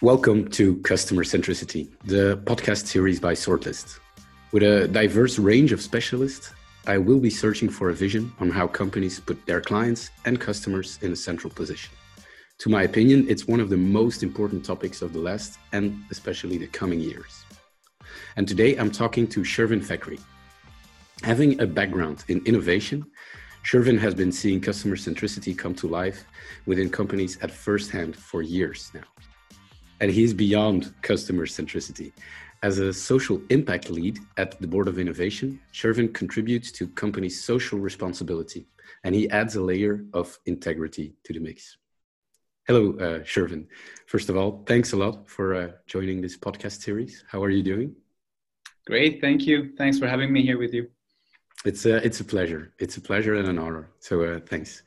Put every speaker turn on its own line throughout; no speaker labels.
Welcome to Customer Centricity, the podcast series by Sortlist. With a diverse range of specialists, I will be searching for a vision on how companies put their clients and customers in a central position. To my opinion, it's one of the most important topics of the last and especially the coming years. And today I'm talking to Shervin Fakhri. Having a background in innovation, Shervin has been seeing customer centricity come to life within companies at first hand for years now. And he's beyond customer centricity. As a social impact lead at the Board of Innovation, Shervin contributes to companies' social responsibility, and he adds a layer of integrity to the mix. Hello, Shervin. First of all, thanks a lot for joining this podcast series. How are you doing?
Great, thank you. Thanks for having me here with you.
It's a pleasure. It's a pleasure and an honor. So thanks.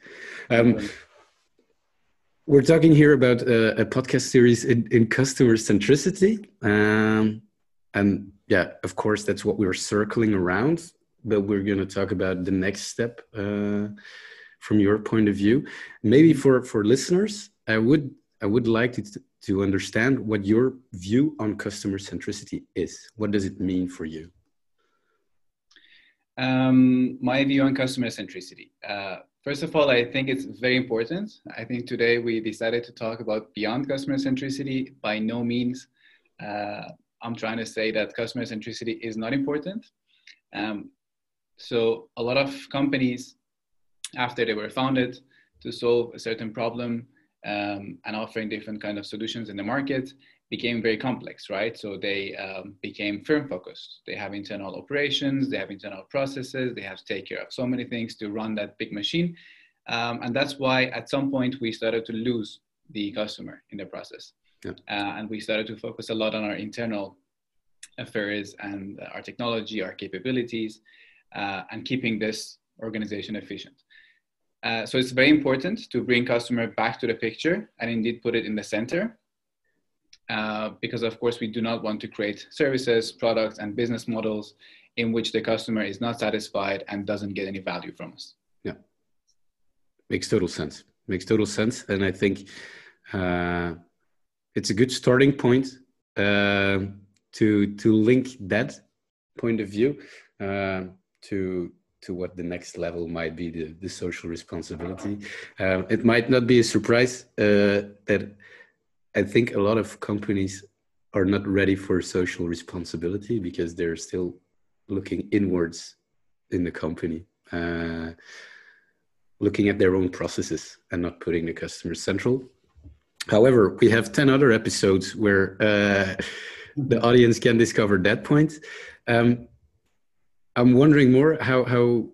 We're talking here about a podcast series in customer centricity. And yeah, of course, that's what we're circling around. But we're going to talk about the next step from your point of view. Maybe for listeners, I would like to understand what your view on customer centricity is. What does it mean for you?
My view on customer centricity. First of all, I think it's very important. I think today we decided to talk about beyond customer centricity. By no means, I'm trying to say that customer centricity is not important. So a lot of companies, after they were founded to solve a certain problem and offering different kind of solutions in the market, became very complex, right? So they became firm focused. They have internal operations, they have internal processes, they have to take care of so many things to run that big machine. And that's why at some point we started to lose the customer in the process. Yeah. And we started to focus a lot on our internal affairs and our technology, our capabilities, and keeping this organization efficient. So it's very important to bring customer back to the picture and indeed put it in the center. Because of course we do not want to create services, products, and business models in which the customer is not satisfied and doesn't get any value from us.
Yeah, makes total sense. And I think it's a good starting point to link that point of view to what the next level might be, the social responsibility. It might not be a surprise that I think a lot of companies are not ready for social responsibility because they're still looking inwards in the company, looking at their own processes and not putting the customer central. However, we have 10 other episodes where the audience can discover that point. I'm wondering more how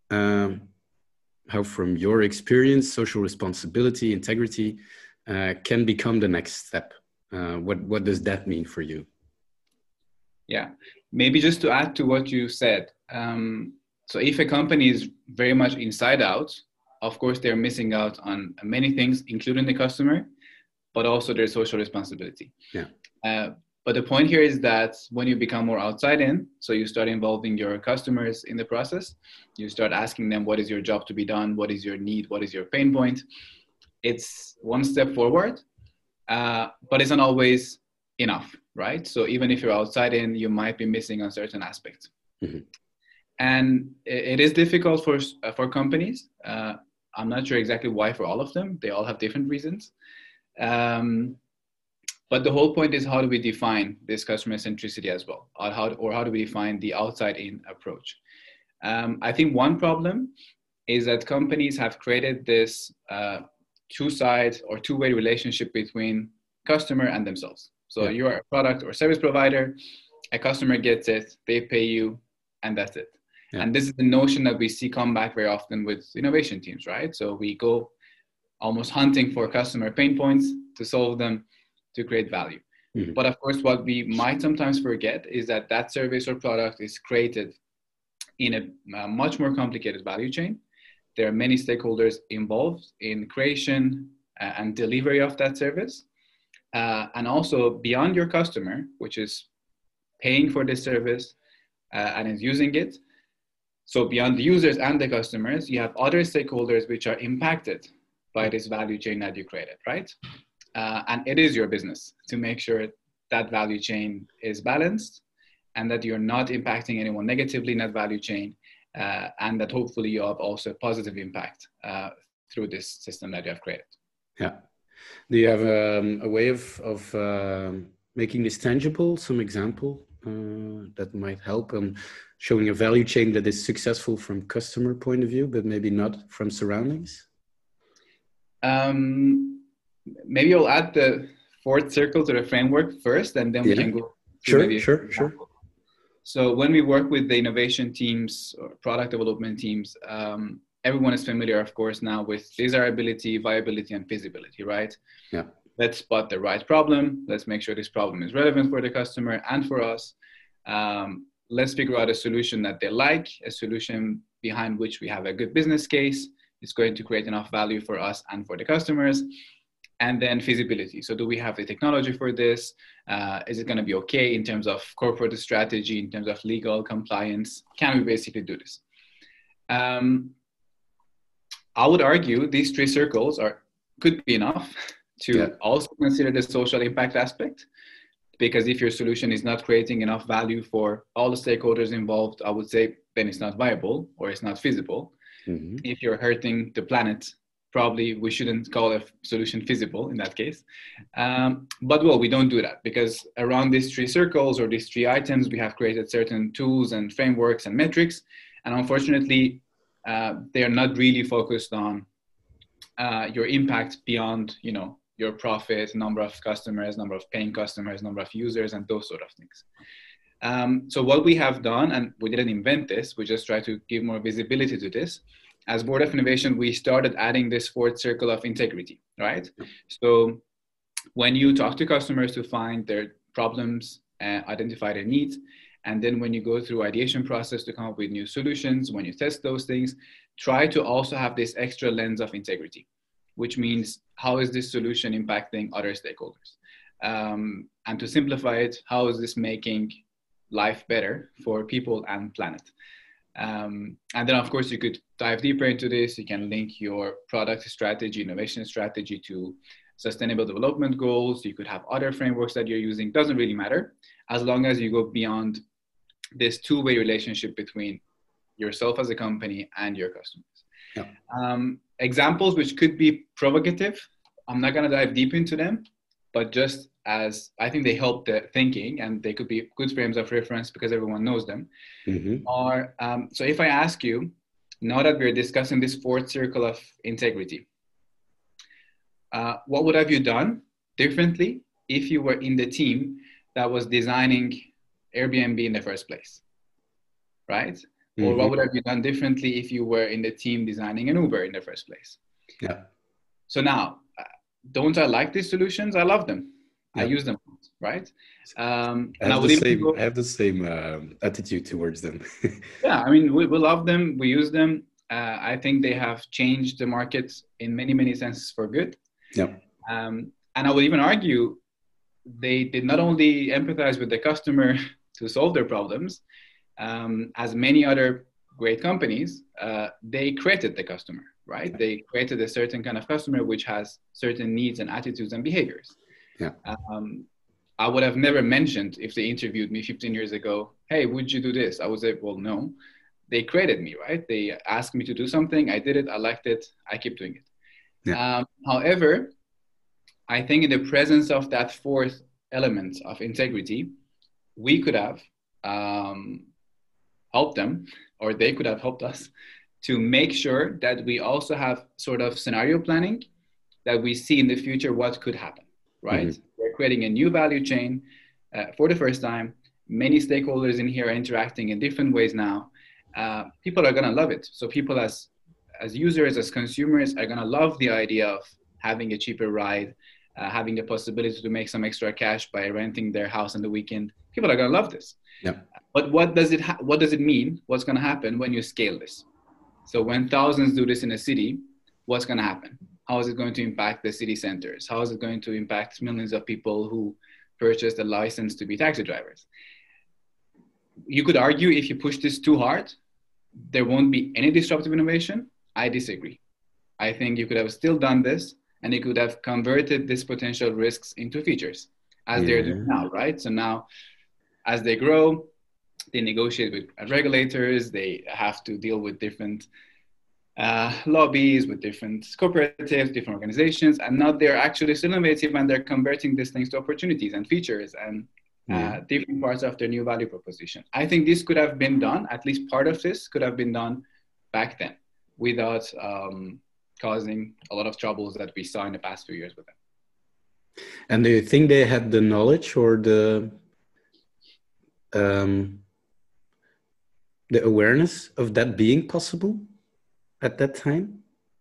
from your experience, social responsibility, integrity, can become the next step. What does that mean for you?
Yeah, maybe just to add to what you said. So if a company is very much inside out, of course, they're missing out on many things, including the customer, but also their social responsibility. Yeah. But the point here is that when you become more outside in, so you start involving your customers in the process, you start asking them, what is your job to be done? What is your need? What is your pain point? It's one step forward, but it's not always enough, right? So even if you're outside in, you might be missing on certain aspects. Mm-hmm. And it is difficult for companies. I'm not sure exactly why for all of them. They all have different reasons. But the whole point is, how do we define this customer centricity as well? Or how do we define the outside in approach? I think one problem is that companies have created this two-side or two-way relationship between customer and themselves. So you are a product or service provider, a customer gets it, they pay you, and that's it. Yeah. And this is the notion that we see come back very often with innovation teams, right? So we go almost hunting for customer pain points to solve them, to create value. Mm-hmm. But of course, what we might sometimes forget is that that service or product is created in a much more complicated value chain. There are many stakeholders involved in creation and delivery of that service. And also beyond your customer, which is paying for this service and is using it. So beyond the users and the customers, you have other stakeholders which are impacted by this value chain that you created, right? and it is your business to make sure that value chain is balanced and that you're not impacting anyone negatively in that value chain, and that hopefully you have also a positive impact through this system that you have created.
Yeah. Do you have a way of making this tangible, some example that might help on showing a value chain that is successful from customer point of view, but maybe not from surroundings?
Maybe I'll add the fourth circle to the framework first, and then we can go through
Sure.
So when we work with the innovation teams or product development teams, everyone is familiar, of course, now with desirability, viability, and feasibility, right?
Yeah.
Let's spot the right problem. Let's make sure this problem is relevant for the customer and for us. Let's figure out a solution that they like, a solution behind which we have a good business case. It's going to create enough value for us and for the customers. And then feasibility. So do we have the technology for this? Is it going to be okay in terms of corporate strategy, in terms of legal compliance? Can we basically do this? I would argue these three circles could be enough to also consider the social impact aspect, because if your solution is not creating enough value for all the stakeholders involved, I would say then it's not viable or it's not feasible. Mm-hmm. If you're hurting the planet, probably we shouldn't call a solution feasible in that case. But well, we don't do that, because around these three circles or these three items, we have created certain tools and frameworks and metrics. And unfortunately, they are not really focused on your impact beyond, your profit, number of customers, number of paying customers, number of users, and those sort of things. So what we have done, and we didn't invent this, we just try to give more visibility to this. As Board of Innovation, we started adding this fourth circle of integrity, right? So when you talk to customers to find their problems, identify their needs, and then when you go through ideation process to come up with new solutions, when you test those things, try to also have this extra lens of integrity, which means how is this solution impacting other stakeholders? And to simplify it, how is this making life better for people and planet? And then, of course, you could dive deeper into this. You can link your product strategy, innovation strategy to sustainable development goals. You could have other frameworks that you're using. Doesn't really matter, as long as you go beyond this two-way relationship between yourself as a company and your customers. Yeah. Examples which could be provocative, I'm not going to dive deep into them, but just as I think they help the thinking, and they could be good frames of reference because everyone knows them. Mm-hmm. So if I ask you, now that we're discussing this fourth circle of integrity, what would have you done differently if you were in the team that was designing Airbnb in the first place, right? Mm-hmm. Or what would have you done differently if you were in the team designing an Uber in the first place? Yeah. So now, don't I like these solutions? I love them. Yeah. I use them, right?
I have the same attitude towards them.
Yeah, I mean, we love them. We use them. I think they have changed the market in many, many senses for good. Yeah. And I would even argue they did not only empathize with the customer to solve their problems, as many other great companies, they created the customer, right? Yeah. They created a certain kind of customer which has certain needs and attitudes and behaviors. Yeah. I would have never mentioned, if they interviewed me 15 years ago, hey, would you do this? I would say, well, no. They created me, right? They asked me to do something. I did it. I liked it. I keep doing it. Yeah. However, I think in the presence of that fourth element of integrity, we could have helped them, or they could have helped us to make sure that we also have sort of scenario planning, that we see in the future what could happen, right? Mm-hmm. We're creating a new value chain for the first time. Many stakeholders in here are interacting in different ways now. People are going to love it. So people as users, as consumers, are going to love the idea of having a cheaper ride, having the possibility to make some extra cash by renting their house on the weekend. People are going to love this. Yeah. But what does it mean? What's going to happen when you scale this? So when thousands do this in a city, what's going to happen? How is it going to impact the city centers? How is it going to impact millions of people who purchased a license to be taxi drivers? You could argue if you push this too hard, there won't be any disruptive innovation. I disagree. I think you could have still done this and you could have converted these potential risks into features as they're doing now, right? So now as they grow, they negotiate with regulators, they have to deal with different lobbies, with different cooperatives, different organizations, and now they're actually still innovative and they're converting these things to opportunities and features and different parts of their new value proposition. I think this could have been done, at least part of this could have been done back then without causing a lot of troubles that we saw in the past few years with them.
And do you think they had the knowledge or the awareness of that being possible at that time?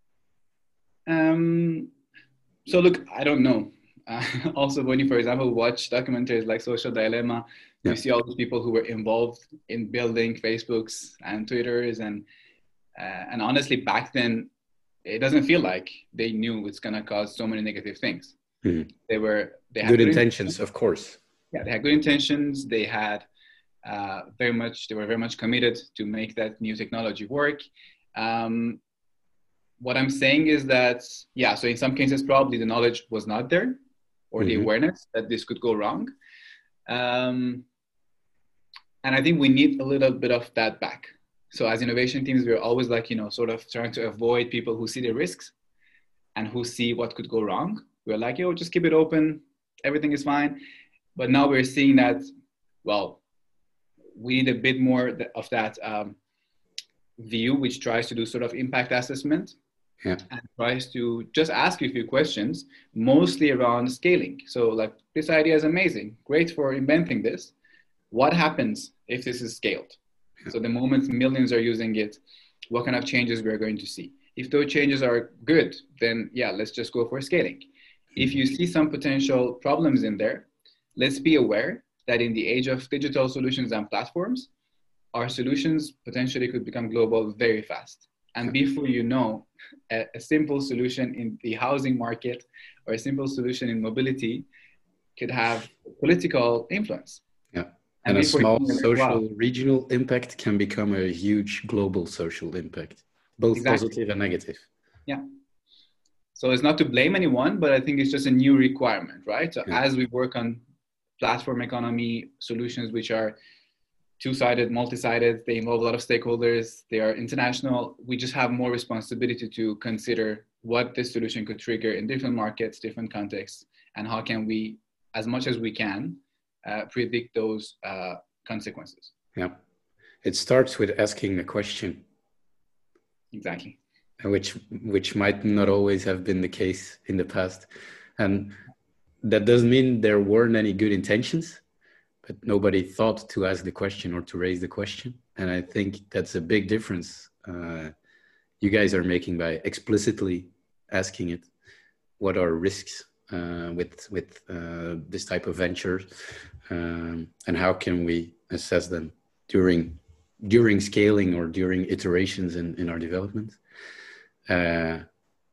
So look, I don't know. Also, when you, for example, watch documentaries like Social Dilemma, you see all these people who were involved in building Facebooks and Twitters, and honestly, back then, it doesn't feel like they knew it's gonna cause so many negative things.
Mm-hmm.
They had
good intentions, of course.
Yeah, they had good intentions. They had they were very much committed to make that new technology work. What I'm saying is that, so in some cases, probably the knowledge was not there, or the awareness that this could go wrong. And I think we need a little bit of that back. So as innovation teams, we're always like, sort of trying to avoid people who see the risks and who see what could go wrong. We're like, just keep it open. Everything is fine. But now we're seeing that, well, we need a bit more of that view, which tries to do sort of impact assessment and tries to just ask you a few questions, mostly around scaling. So like, this idea is amazing. Great for inventing this. What happens if this is scaled? So the moment millions are using it, what kind of changes we're going to see? If those changes are good, then let's just go for scaling. If you see some potential problems in there, let's be aware that in the age of digital solutions and platforms, our solutions potentially could become global very fast. And before you know, a simple solution in the housing market or a simple solution in mobility could have political influence.
Yeah. And a small social regional impact can become a huge global social impact, both positive and negative.
Yeah. So it's not to blame anyone, but I think it's just a new requirement, right? So as we work on platform economy solutions, which are two-sided, multi-sided, they involve a lot of stakeholders, they are international, we just have more responsibility to consider what this solution could trigger in different markets, different contexts, and how can we, as much as we can, predict those consequences.
Yeah. It starts with asking a question.
Exactly.
Which might not always have been the case in the past. And that doesn't mean there weren't any good intentions, but nobody thought to ask the question or to raise the question. And I think that's a big difference you guys are making by explicitly asking it. What are risks with this type of venture, and how can we assess them during scaling or during iterations in our development? I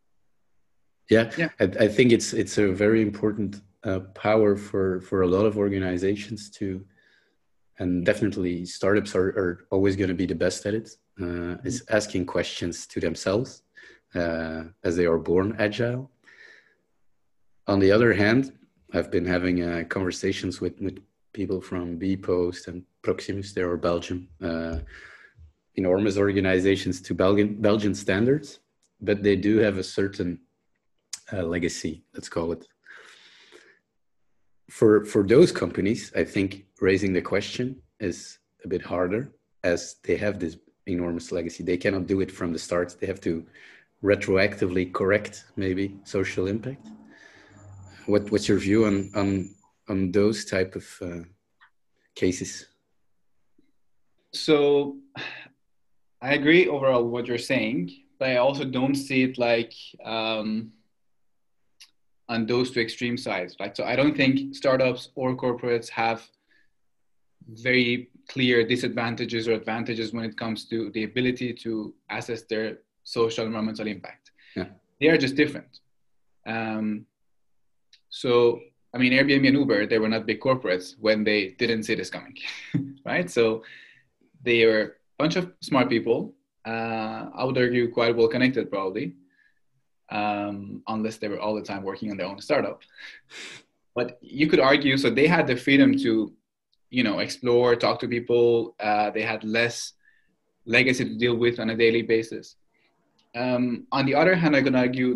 think it's a very important power for a lot of organizations to, and definitely startups are always going to be the best at it, is asking questions to themselves as they are born agile. On the other hand, I've been having conversations with people from bpost and Proximus. They are Belgium, enormous organizations to Belgian standards, but they do have a certain legacy, let's call it. For those companies, I think raising the question is a bit harder, as they have this enormous legacy. They cannot do it from the start. They have to retroactively correct maybe social impact. What's your view on those type of cases?
So I agree overall with what you're saying, but I also don't see it like on those two extreme sides, right? So I don't think startups or corporates have very clear disadvantages or advantages when it comes to the ability to assess their social and environmental impact.
Yeah.
They are just different. So, I mean, Airbnb and Uber, they were not big corporates when they didn't see this coming, right? So they are a bunch of smart people, I would argue quite well connected probably, unless they were all the time working on their own startup. But you could argue, so they had the freedom to, explore, talk to people. They had less legacy to deal with on a daily basis. On the other hand, I could argue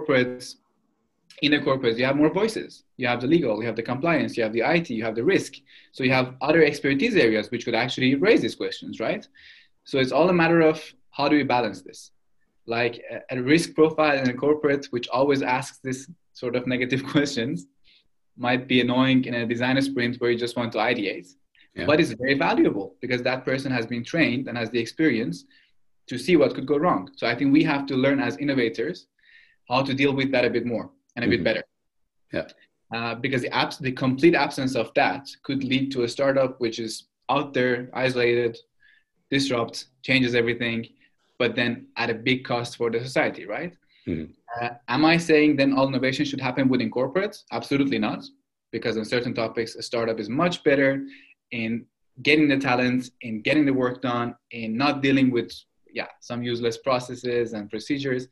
in the corporates, you have more voices. You have the legal, you have the compliance, you have the IT, you have the risk. So you have other expertise areas which could actually raise these questions, right? So it's all a matter of how do we balance this? Like a risk profile in a corporate, which always asks this sort of negative questions, might be annoying in a designer sprint where you just want to ideate, but it's very valuable because that person has been trained and has the experience to see what could go wrong. So I think we have to learn as innovators how to deal with that a bit more and a bit better. Because the complete absence of that could lead to a startup which is out there, isolated, disrupts, changes everything, but then at a big cost for the society, right? Am I saying then all innovation should happen within corporates? Absolutely not, because on certain topics, a startup is much better in getting the talent, in getting the work done, in not dealing with some useless processes and procedures.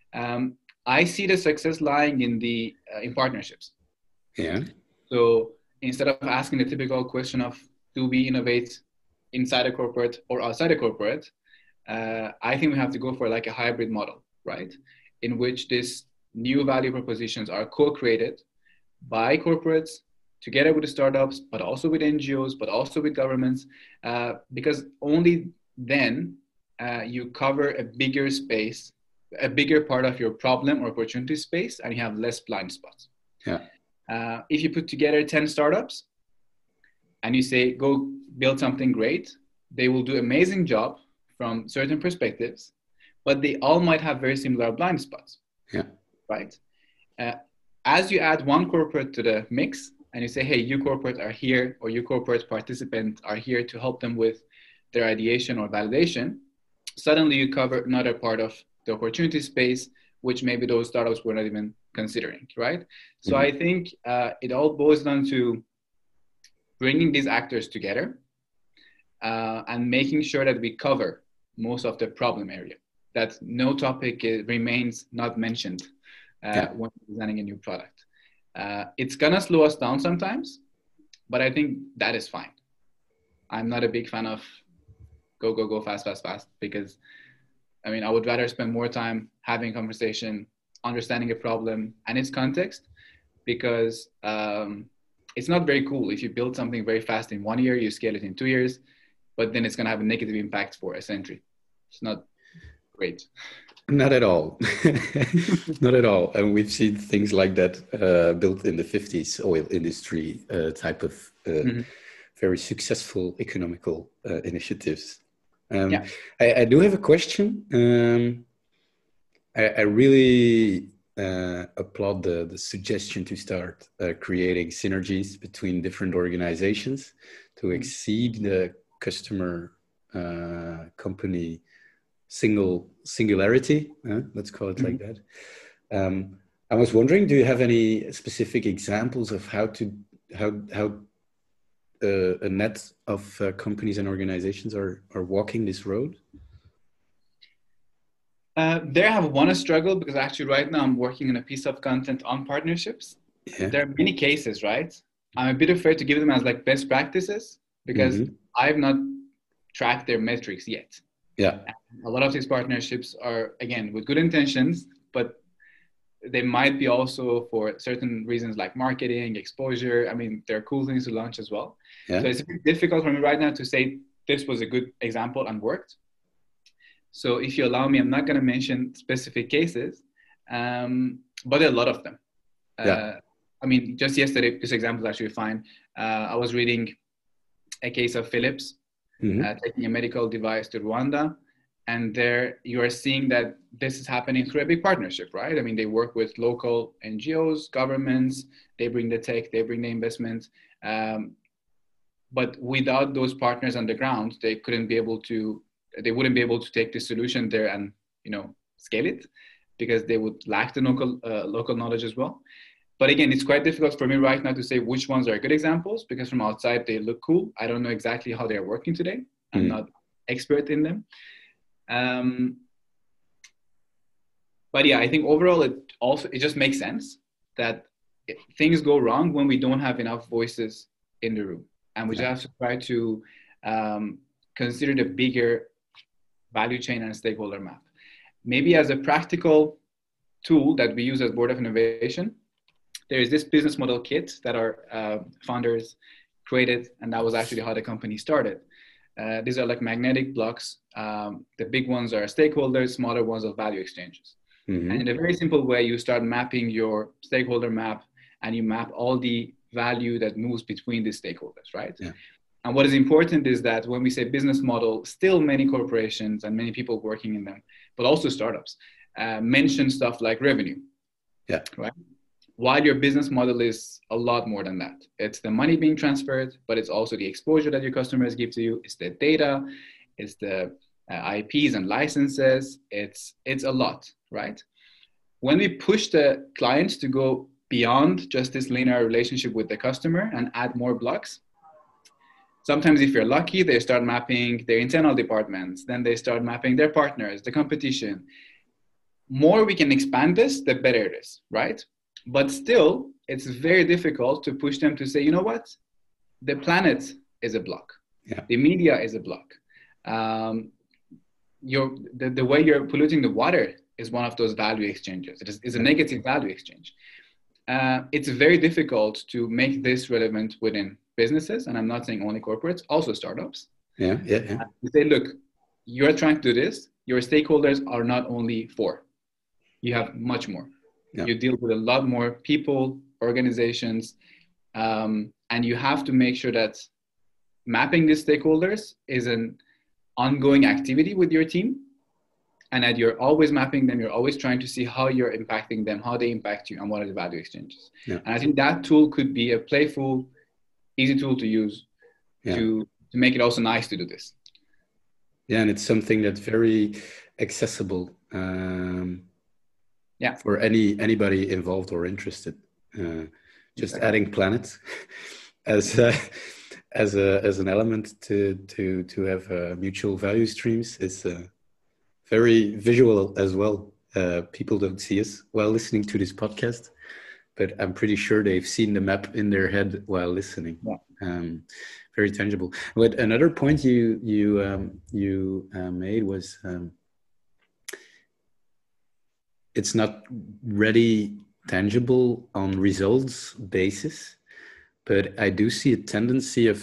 I see the success lying in partnerships. So instead of asking the typical question of do we innovate inside a corporate or outside a corporate, I think we have to go for like a hybrid model, right? In which these new value propositions are co-created by corporates together with the startups, but also with NGOs, but also with governments, because only then you cover a bigger space, a bigger part of your problem or opportunity space, and you have less blind spots. If you put together 10 startups and you say, go build something great, they will do amazing job from certain perspectives, but they all might have very similar blind spots, right? As you add one corporate to the mix and you say, hey, you corporate are here, or you corporate participant are here to help them with their ideation or validation, suddenly you cover another part of the opportunity space, which maybe those startups were not even considering, right? So I think it all boils down to bringing these actors together and making sure that we cover most of the problem area, that no topic remains not mentioned when designing a new product. It's gonna slow us down sometimes, but I think that is fine. I'm not a big fan of go, fast, because I would rather spend more time having a conversation, understanding a problem and its context, because it's not very cool if you build something very fast in 1 year, you scale it in 2 years, but then it's going to have a negative impact for a century. It's not great.
Not at all. Not at all. And we've seen things like that built in the 50s oil industry type of very successful economical initiatives. I do have a question. I really applaud the suggestion to start creating synergies between different organizations to exceed the customer company singularity. Let's call it like that. I was wondering, do you have any specific examples of how a net of companies and organizations are walking this road?
There I have one struggle, because actually right now I'm working on a piece of content on partnerships. There are many cases, right? I'm a bit afraid to give them as like best practices, because I've not tracked their metrics yet. A lot of these partnerships are, again, with good intentions, but they might be also for certain reasons like marketing, exposure. There are cool things to launch as well. So it's a bit difficult for me right now to say this was a good example and worked. So if you allow me, I'm not going to mention specific cases, but there are a lot of them. Just yesterday, this example is actually fine. I was reading a case of Philips taking a medical device to Rwanda. And there you are seeing that this is happening through a big partnership, right? They work with local NGOs, governments, they bring the tech, they bring the investment. But without those partners on the ground, they wouldn't be able to take the solution there and, scale it, because they would lack the local knowledge as well. But again, it's quite difficult for me right now to say which ones are good examples, because from outside they look cool. I don't know exactly how they're working today. I'm not expert in them. But yeah, I think overall it just makes sense that things go wrong when we don't have enough voices in the room, and we just have to try to consider the bigger value chain and stakeholder map. Maybe as a practical tool that we use as Board of Innovation, there is this business model kit that our founders created, and that was actually how the company started. These are like magnetic blocks. The big ones are stakeholders, smaller ones are value exchanges. Mm-hmm. And in a very simple way, you start mapping your stakeholder map, and you map all the value that moves between the stakeholders, right? Yeah. And what is important is that when we say business model, still many corporations and many people working in them, but also startups, mention stuff like revenue. Yeah. Right. While your business model is a lot more than that. It's the money being transferred, but it's also the exposure that your customers give to you. It's the data, it's the IPs and licenses. It's a lot, right? When we push the clients to go beyond just this linear relationship with the customer and add more blocks, sometimes if you're lucky, they start mapping their internal departments, then they start mapping their partners, the competition. More we can expand this, the better it is, right? But still, it's very difficult to push them to say, you know what? The planet is a block. Yeah. The media is a block. The way you're polluting the water is one of those value exchanges. It is a negative value exchange. It's very difficult to make this relevant within businesses, and I'm not saying only corporates, also startups. Yeah. You say, look, you're trying to do this. Your stakeholders are not only 4. You have much more. Yeah. You deal with a lot more people, organizations, and you have to make sure that mapping these stakeholders is an ongoing activity with your team, and that you're always mapping them. You're always trying to see how you're impacting them, how they impact you, and what are the value exchanges. Yeah. And I think that tool could be a playful, easy tool to use to make it also nice to do this.
Yeah, and it's something that's very accessible. For anybody involved or interested. Just adding planet as an element to have mutual value streams is very visual as well. People don't see us while listening to this podcast, but I'm pretty sure they've seen the map in their head while listening. Yeah. Very tangible. But another point you made was it's not ready tangible on results basis, but I do see a tendency of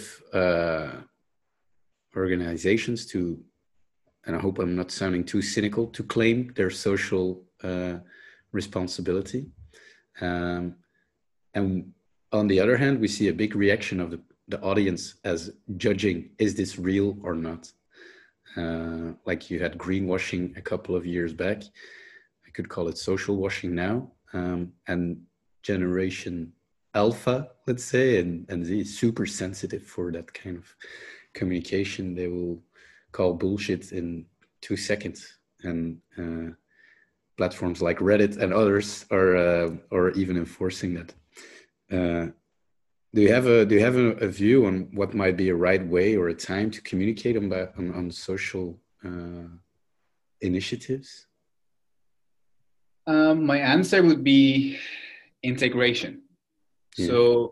organizations to, and I hope I'm not sounding too cynical, to claim their social responsibility. And on the other hand, we see a big reaction of the audience as judging, is this real or not? Like you had greenwashing a couple of years back. I could call it social washing now. And Generation Alpha, let's say, and Z is super sensitive for that kind of communication. They will call bullshit in 2 seconds. And platforms like Reddit and others are even enforcing that. Do you have a view on what might be a right way or a time to communicate on social initiatives?
My answer would be integration. Yeah. So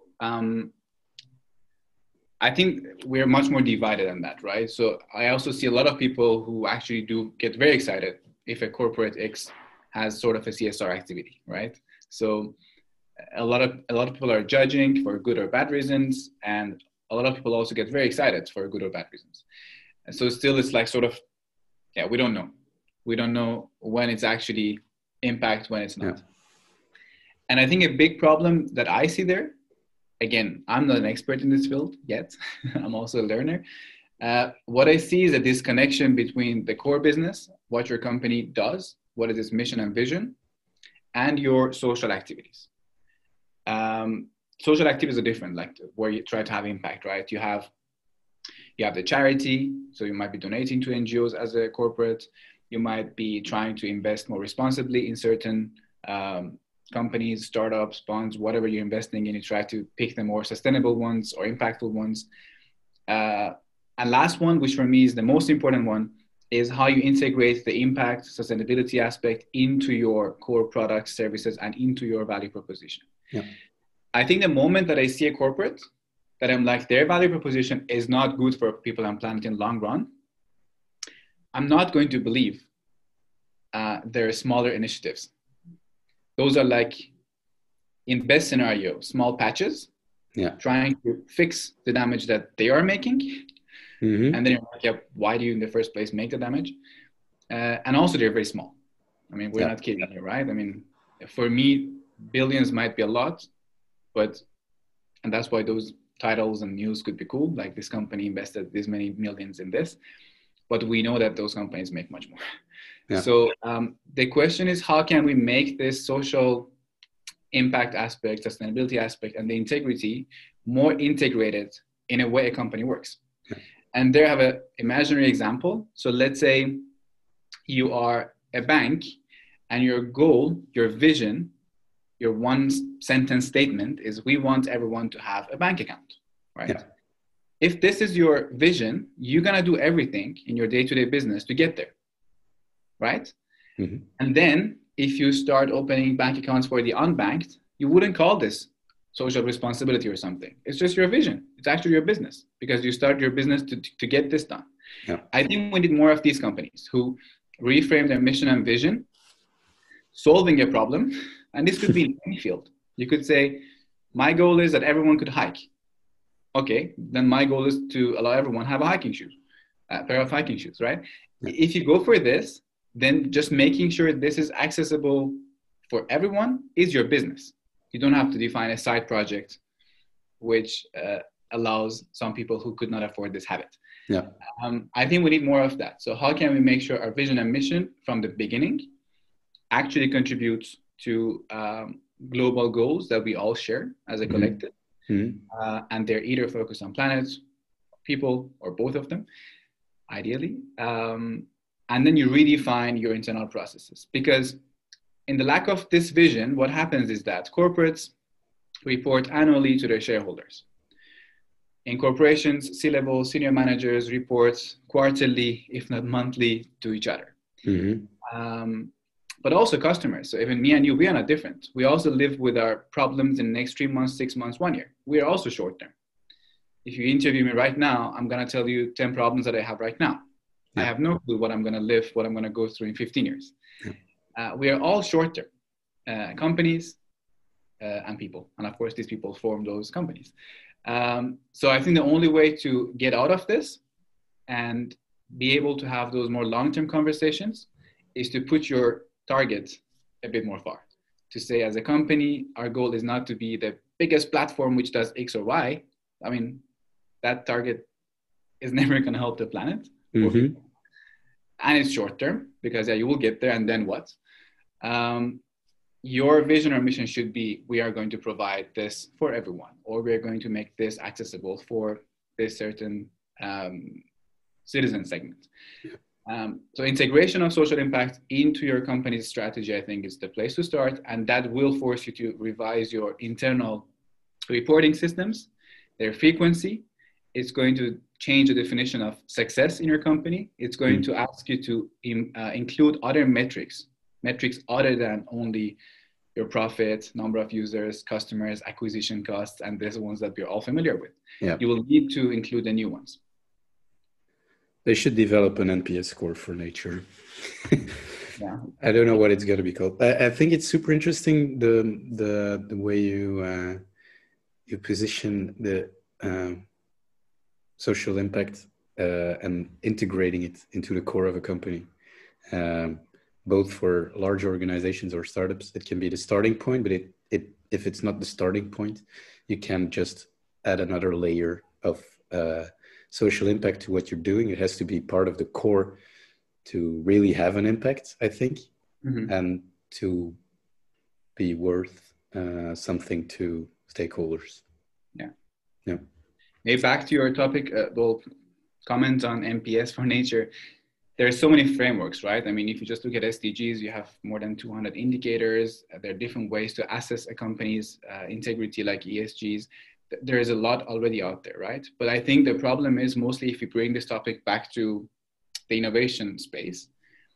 I think we're much more divided than that, right? So I also see a lot of people who actually do get very excited if a corporate X has sort of a CSR activity, right? So a lot of people are judging for good or bad reasons, and a lot of people also get very excited for good or bad reasons. And so still it's like sort of, we don't know. We don't know when it's actually impact, when it's not. Yeah. And I think a big problem that I see there, again, I'm not an expert in this field yet. I'm also a learner. What I see is a disconnection between the core business, what your company does, what is its mission and vision, and your social activities. Social activities are different, like where you try to have impact, right? You have the charity, so you might be donating to NGOs as a corporate. You might be trying to invest more responsibly in certain companies, startups, bonds, whatever you're investing in. You try to pick the more sustainable ones or impactful ones. And last one, which for me is the most important one, is how you integrate the impact, sustainability aspect into your core products, services, and into your value proposition.
Yeah.
I think the moment that I see a corporate that I'm like, their value proposition is not good for people and planet in the long run, I'm not going to believe their smaller initiatives. Those are like, in best scenario, small patches, trying to fix the damage that they are making. Mm-hmm. And then you're like, yeah, why do you in the first place make the damage? And also they're very small. I mean, we're not kidding here, right? I mean, for me, billions might be a lot, and that's why those titles and news could be cool. Like, this company invested this many millions in this, but we know that those companies make much more. Yeah. So the question is, how can we make this social impact aspect, sustainability aspect, and the integrity more integrated in a way a company works? Yeah. And there I have an imaginary example. So let's say you are a bank and your goal, your vision, your one sentence statement is, we want everyone to have a bank account, right? Yeah. If this is your vision, you're going to do everything in your day-to-day business to get there, right? Mm-hmm. And then if you start opening bank accounts for the unbanked, you wouldn't call this social responsibility or something. It's just your vision. It's actually your business, because you start your business to get this done. Yeah. I think we need more of these companies who reframe their mission and vision, solving a problem. And this could be in any field. You could say, my goal is that everyone could hike. Okay, then my goal is to allow everyone to have a hiking shoe, a pair of hiking shoes, right? Yeah. If you go for this, then just making sure this is accessible for everyone is your business. You don't have to define a side project which allows some people who could not afford this have it. Yeah. I think we need more of that. So how can we make sure our vision and mission from the beginning actually contributes to global goals that we all share as a collective? Mm-hmm. And they're either focused on planet, people, or both of them, ideally. And then you redefine your internal processes. Because in the lack of this vision, what happens is that corporates report annually to their shareholders. In corporations, C-level senior managers report quarterly, if not monthly, to each other. Mm-hmm. But also customers. So even me and you, we are not different. We also live with our problems in the next 3 months, 6 months, 1 year. We are also short term. If you interview me right now, I'm going to tell you 10 problems that I have right now. Yeah. I have no clue what I'm going to live, what I'm going to go through in 15 years. Yeah. We are all short term companies and people. And of course, these people form those companies. So I think the only way to get out of this and be able to have those more long-term conversations is to put your target a bit more far. To say, as a company, our goal is not to be the biggest platform which does X or Y. I mean, that target is never going to help the planet. Mm-hmm. And it's short term, because you will get there, and then what? Your vision or mission should be, we are going to provide this for everyone, or we are going to make this accessible for this certain citizen segment. So integration of social impact into your company's strategy, I think, is the place to start. And that will force you to revise your internal reporting systems, their frequency. It's going to change the definition of success in your company. It's going to ask you to include other metrics other than only your profit, number of users, customers, acquisition costs, and these ones that we're all familiar with. Yeah. You will need to include the new ones.
They should develop an NPS score for nature. Yeah. I don't know what it's going to be called. I think it's super interesting the way you position the social impact and integrating it into the core of a company. Both for large organizations or startups, it can be the starting point, but if it's not the starting point, you can just add another layer of social impact to what you're doing. It has to be part of the core to really have an impact, I think, and to be worth something to stakeholders.
Yeah.
Yeah.
Maybe back to your topic, well, comment on NPS for nature. There are so many frameworks, right? I mean, if you just look at SDGs, you have more than 200 indicators. There are different ways to assess a company's integrity, like ESGs. There is a lot already out there, right? But I think the problem is mostly if you bring this topic back to the innovation space,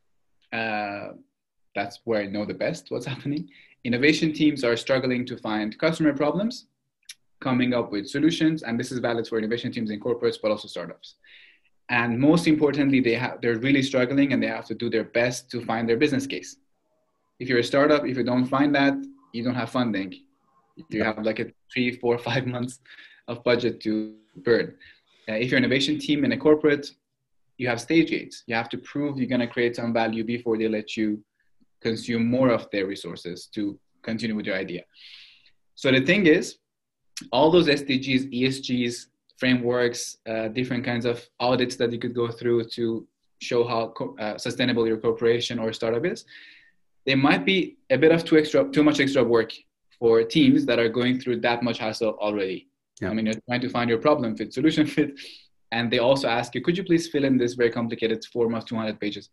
that's where I know the best what's happening. Innovation teams are struggling to find customer problems, coming up with solutions, and this is valid for innovation teams in corporates, but also startups. And most importantly, they're really struggling, and they have to do their best to find their business case. If you're a startup, if you don't find that, you don't have funding. You have like a 3, 4, 5 months of budget to burn. If you're an innovation team in a corporate, you have stage gates. You have to prove you're going to create some value before they let you consume more of their resources to continue with your idea. So the thing is, all those SDGs, ESGs, frameworks, different kinds of audits that you could go through to show how sustainable your corporation or startup is, they might be a bit of too much extra work for teams that are going through that much hassle already. Yeah. I mean, you're trying to find your problem fit, solution fit, and they also ask you, could you please fill in this very complicated form of 200 pages?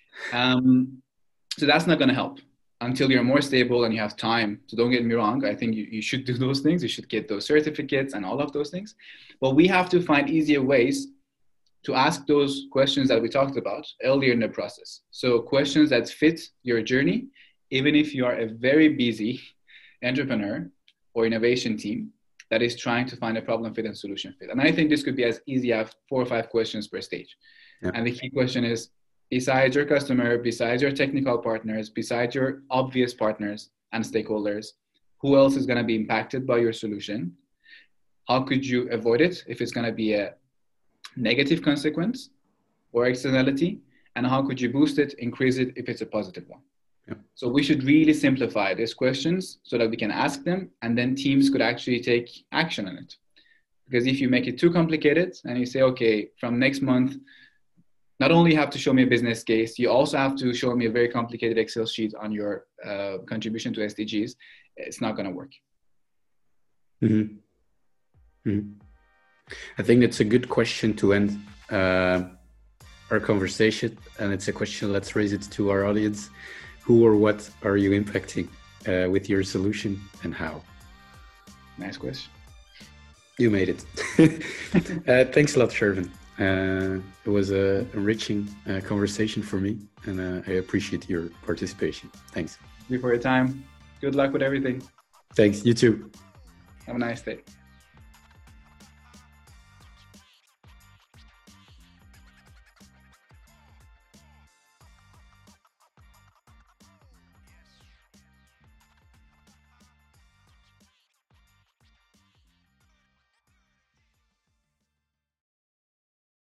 So that's not going to help until you're more stable and you have time. So don't get me wrong. I think you should do those things. You should get those certificates and all of those things. But we have to find easier ways to ask those questions that we talked about earlier in the process. So questions that fit your journey, even if you are a very busy entrepreneur or innovation team that is trying to find a problem fit and solution fit. And I think this could be as easy as 4 or 5 questions per stage. Yeah. And the key question is, besides your customer, besides your technical partners, besides your obvious partners and stakeholders, who else is going to be impacted by your solution? How could you avoid it if it's going to be a negative consequence or externality? And how could you boost it, increase it if it's a positive one? Yeah. So we should really simplify these questions so that we can ask them, and then teams could actually take action on it. Because if you make it too complicated and you say, okay, from next month, not only have to show me a business case, you also have to show me a very complicated Excel sheet on your contribution to SDGs, it's not going to work.
Mm-hmm. Mm-hmm. I think it's a good question to end our conversation. And it's a question, let's raise it to our audience. Who or what are you impacting with your solution, and how?
Nice question.
You made it. Thanks a lot, Shervin. It was a enriching conversation for me, and I appreciate your participation. Thanks.
Thank you for your time. Good luck with everything.
Thanks. You too.
Have a nice day.